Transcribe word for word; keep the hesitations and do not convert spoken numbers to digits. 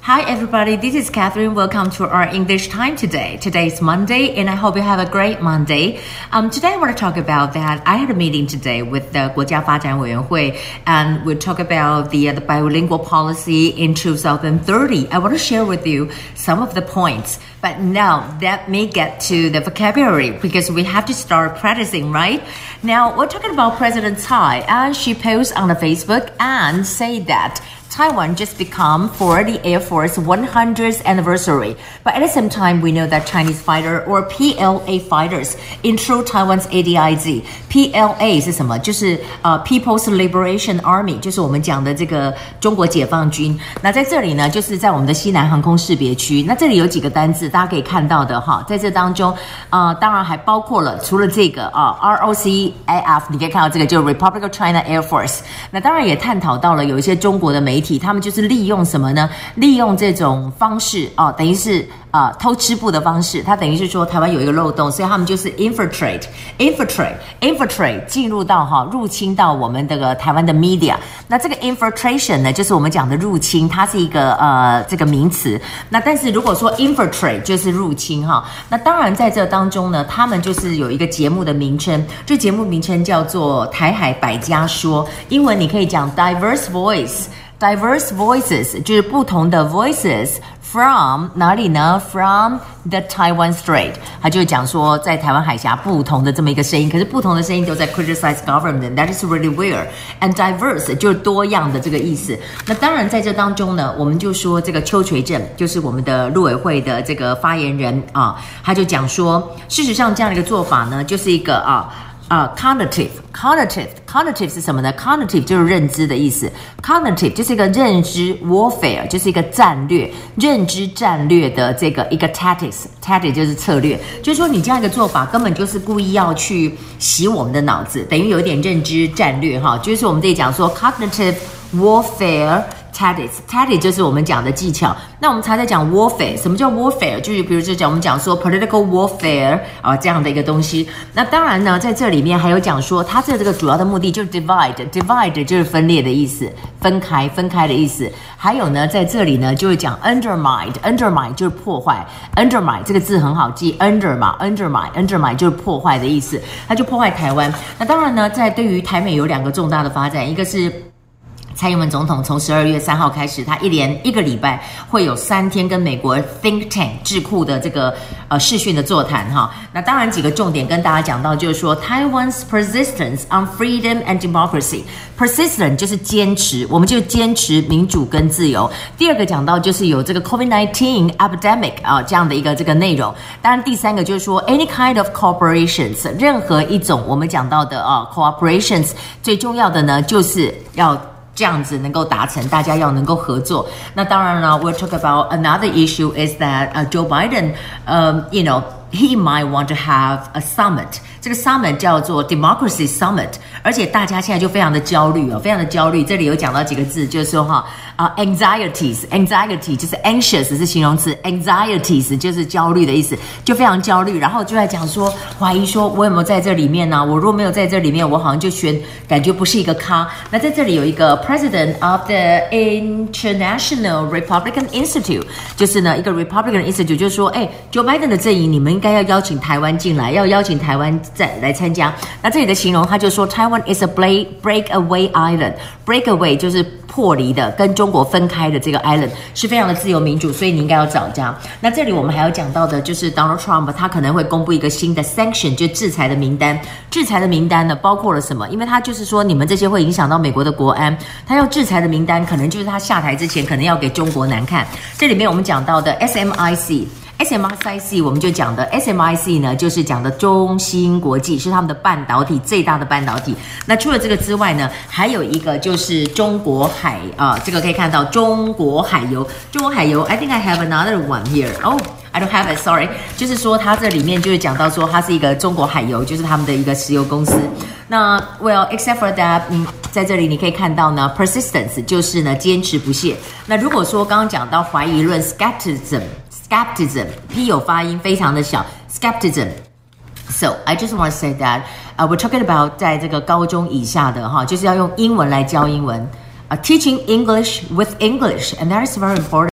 Hi everybody, this is Catherine. Welcome to our English time today. Today is Monday and I hope you have a great Monday. Um, today I want to talk about that. I had a meeting today with the 国家发展委员会 and we talk about the, uh, the bilingual policy in twenty thirty. I want to share with you some of the points. But now let me get to the vocabulary because we have to start practicing, right? Now we're talking about President Tsai and she posts on the Facebook and say that Taiwan just become for the Air Force one hundredth anniversary. But at the same time, we know that Chinese fighter or P L A fighters intro Taiwan's A D I Z. P L A 是什么？就是呃 People's Liberation Army， 就是我们讲的这个中国解放军。那在这里呢，就是在我们的西南航空识别区。那这里有几个单字，大家可以看到的哈，在这当中，呃，当然还包括了除了这个啊 R O C A F， 你可以看到这个就是 Republic of China Air Force。那当然也探讨到了有一些中国的媒体。他们就是利用什么呢？利用这种方式哦，等于是呃偷吃布的方式。它等于是说台湾有一个漏洞，所以他们就是 infiltrate, infiltrate, infiltrate 进入到哈入侵到我们这个台湾的 media。那这个 infiltration 呢，就是我们讲的入侵，它是一个呃这个名词。那但是如果说 infiltrate 就是入侵哈，那当然在这当中呢，他们就是有一个节目的名称，这节目名称叫做台海百家说，英文你可以讲 diverse voice。Diverse voices 就是不同的 voices from 哪里呢 ？From the Taiwan Strait， 他就讲说在台湾海峡不同的这么一个声音，可是不同的声音都在 criticize government。That is really weird. And diverse 就是多样的这个意思。那当然在这当中呢，我们就说这个邱垂正就是我们的陆委会的这个发言人啊，他就讲说，事实上这样的一个做法呢，就是一个啊。啊、uh, ，cognitive, cognitive, cognitive 是什么呢 ？cognitive 就是认知的意思 ，cognitive 就是一个认知 warfare， 就是一个战略，认知战略的这个一个 tactics，tactics 就是策略，就是说你这样一个做法根本就是故意要去洗我们的脑子，等于有一点认知战略哈，就是我们这里讲说 cognitive warfare。Tactics, tactics 就是我们讲的技巧。那我们才在讲 warfare， 什么叫 warfare？ 就是比如说讲我们讲说 political warfare 啊这样的一个东西。那当然呢，在这里面还有讲说，它这这个主要的目的就是 divide，divide 就是分裂的意思，分开分开的意思。还有呢，在这里呢就会讲 undermine，undermine 就是破坏 ，undermine 这个字很好记 ，under 嘛 ，undermine，undermine 就是破坏的意思，它就破坏台湾。那当然呢，在对于台美有两个重大的发展，一个是。蔡英文总统从十二月三号开始，他一连一个礼拜会有三天跟美国 think tank 智库的这个呃视讯的座谈哈。那当然几个重点跟大家讲到，就是说 Taiwan's persistence on freedom and democracy。persistent 就是坚持，我们就坚持民主跟自由。第二个讲到就是有这个 COVID nineteen epidemic 啊、呃、这样的一个这个内容。当然第三个就是说 any kind of cooperations， 任何一种我们讲到的啊、呃、cooperations， 最重要的呢就是要。这样子能够达成，大家要能够合作。那当然了 ，we'll talk about another issue is that、uh, Joe Biden, um, you know, he might want to have a summit. 这个 summit 叫做 Democracy Summit， 而且大家现在就非常的焦虑哦，非常的焦虑。这里有讲到几个字，就是说哈啊、uh, anxieties, anxiety 就是 anxious 是形容词 ，anxieties 就是焦虑的意思，就非常焦虑。然后就在讲说，怀疑说我有没有在这里面呢、啊？我如果没有在这里面，我好像就选感觉不是一个咖。那在这里有一个 President of the International Republican Institute， 就是呢一个 Republican Institute， 就是说，哎 ，Joe Biden 的阵营，你们应该要邀请台湾进来，要邀请台湾再来参加。那这里的形容，他就说 Taiwan is a break breakaway island，breakaway 就是破离的，跟中国分开的这个 island 是非常的自由民主，所以你应该要找家。那这里我们还要讲到的就是 Donald Trump， 他可能会公布一个新的 sanction， 就制裁的名单。制裁的名单呢，包括了什么？因为他就是说，你们这些会影响到美国的国安，他要制裁的名单，可能就是他下台之前，可能要给中国难看。这里面我们讲到的 S M I C。S M I C 我们就讲的 S M I C 呢，就是讲的中芯国际是他们的半导体最大的半导体。那除了这个之外呢，还有一个就是中国海啊、呃，这个可以看到中国海油，中国海油 I think I have another one here. Oh, I don't have it. Sorry. 就是说它这里面就是讲到说它是一个中国海油，就是他们的一个石油公司。那 well except for that， 嗯，在这里你可以看到呢 ，persistence 就是呢坚持不懈。那如果说刚刚讲到怀疑论 skepticism。Skepticism, P 有发音非常的小 ，skepticism。So I just want to say that, uh, we're talking about 在这个高中以下的哈，就是要用英文来教英文，uh, teaching English with English, and that is very important.